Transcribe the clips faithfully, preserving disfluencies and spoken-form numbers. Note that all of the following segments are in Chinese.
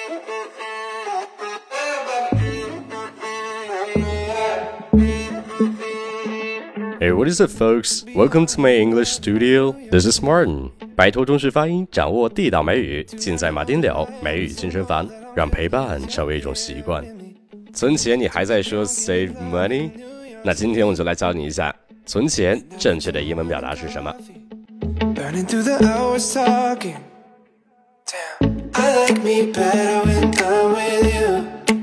Hey, what is it, folks? Welcome to my English studio. This is Martin. 摆脱中式发音，掌握地道美语，尽在马丁柳美语健身房，让陪伴成为一种习惯。存钱，你还在说 save money？ 那今天我就来教你一下存钱正确的英文表达是什么。 Burning through the hours talking. Damn, I like me better when I'm with you.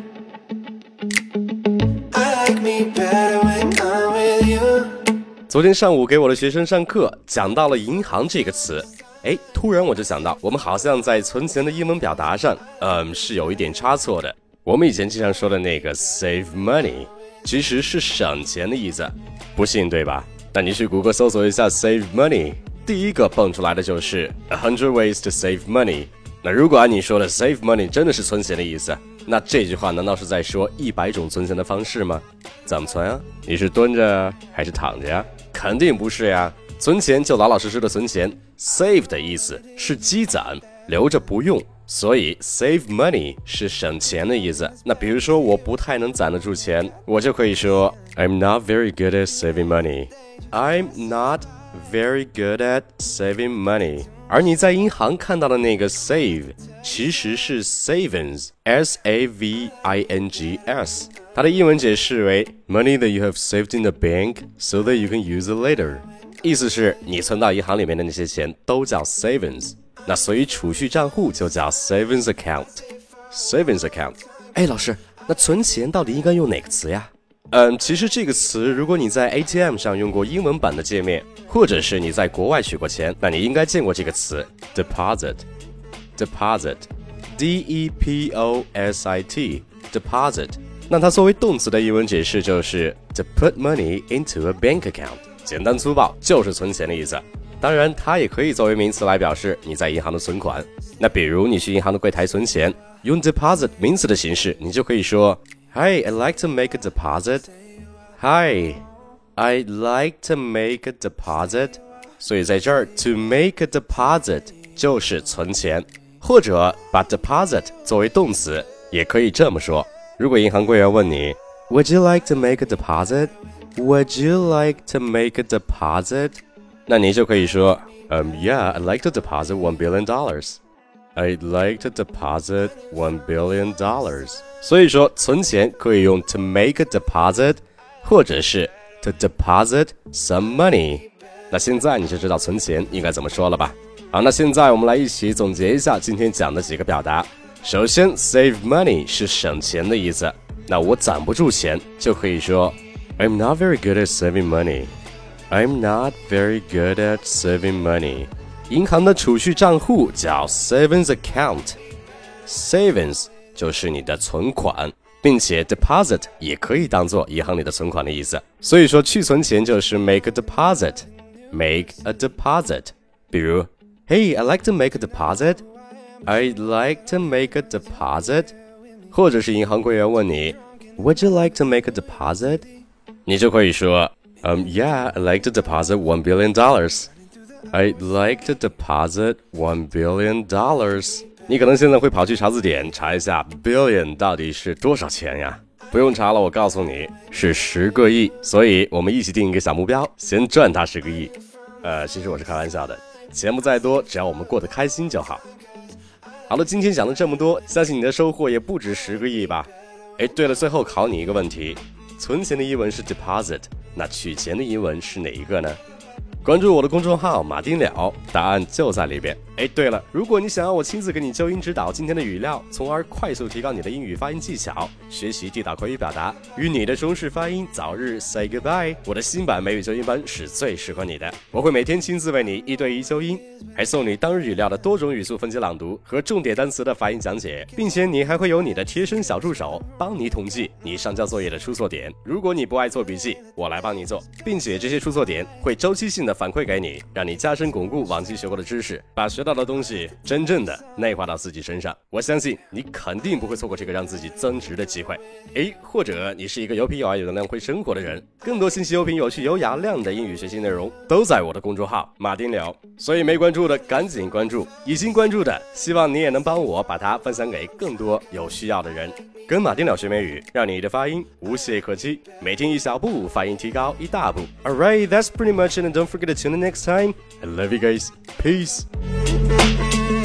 I like me better when I'm with you. 昨天上午给我的学生上课，讲到了银行这个词，诶，突然我就想到，我们好像在存钱的英文表达上，嗯，是有一点差错的。我们以前经常说的那个 save money， 其实是省钱的意思，不信对吧？那你去谷歌搜索一下 save money， 第一个蹦出来的就是 a hundred ways to save money。那如果按你说的 save money 真的是存钱的意思，那这句话难道是在说一百种存钱的方式吗？怎么存啊？你是蹲着还是躺着呀？肯定不是呀。存钱就老老实实的存钱 ，save 的意思是积攒，留着不用，所以 save money 是省钱的意思。那比如说我不太能攒得住钱，我就可以说 I'm not very good at saving money. I'm not very good at saving money. 而你在银行看到的那个 save 其实是 savings, S A V I N G S， 它的英文解释为 money that you have saved in the bank so that you can use it later， 意思是你存到银行里面的那些钱都叫 savings， 那所以储蓄账户就叫 savings account。 savings account。 哎，老师，那存钱到底应该用哪个词呀？嗯，其实这个词如果你在 A T M 上用过英文版的界面，或者是你在国外取过钱，那你应该见过这个词 deposit deposit D E P O S I T deposit。 那它作为动词的英文解释就是 to put money into a bank account， 简单粗暴就是存钱的意思。当然它也可以作为名词来表示你在银行的存款。那比如你去银行的柜台存钱，用 deposit 名词的形式，你就可以说Hi, I'd like to make a deposit. Hi, I'd like to make a deposit. 所以在这儿 to make a deposit 就是存钱，或者把 deposit 作为动词，也可以这么说。如果银行柜员问你 Would you like to make a deposit? Would you like to make a deposit? 那你就可以说 Um, yeah, I'd like to deposit one billion dollars.I'd like to deposit one billion dollars. 所以说存钱可以用 to make a deposit， 或者是 to deposit some money。 那现在你就知道存钱应该怎么说了吧？好，那现在我们来一起总结一下今天讲的几个表达。首先 save money 是省钱的意思，那我攒不住钱就可以说 I'm not very good at saving money. I'm not very good at saving money。银行的储蓄账户叫 savings account， savings 就是你的存款，并且 deposit 也可以当作银行里的存款的意思。所以说去存钱就是 make a deposit， make a deposit。 比如 Hey, I'd like to make a deposit. I'd like to make a deposit。 或者是银行柜员问你 Would you like to make a deposit？ 你就可以说 Um, yeah, I'd like to deposit one billion dollars.I'd like to deposit one billion dollars。 你可能现在会跑去查字典查一下 billion 到底是多少钱呀？不用查了，我告诉你是十个亿。所以我们一起定一个小目标，先赚它十个亿。呃，其实我是开玩笑的，钱不在多，只要我们过得开心就好。好了，今天讲了这么多，相信你的收获也不止十个亿吧。哎，对了，最后考你一个问题，存钱的英文是 deposit， 那取钱的英文是哪一个呢？关注我的公众号马丁了，答案就在里边。哎，对了，如果你想要我亲自给你纠音指导今天的语料，从而快速提高你的英语发音技巧，学习地道口语表达，与你的中式发音早日 say goodbye， 我的新版美语纠音班是最适合你的。我会每天亲自为你一对一纠音，还送你当日语料的多种语速分解朗读和重点单词的发音讲解，并且你还会有你的贴身小助手帮你统计你上交作业的出错点。如果你不爱做笔记，我来帮你做，并且这些出错点会周期性的反馈给你，让你加深巩固往期学过的知识，把学到到的东西真正的内化到自己身上，我相信你肯定不会错过这个让自己增值的机会。诶，或者你是一个有品有爱有能量会生活的人，更多信息、有品有趣有雅量的英语学习内容都在我的公众号马丁聊，所以没关注的赶紧关注，已经关注的希望你也能帮我把它分享给更多有需要的人。跟马丁聊学美语，让你的发音无懈可击，每天一小步，发音提高一大步。Alright, that's pretty much it, and don't forget to tune in next time. I love you guys. Peace.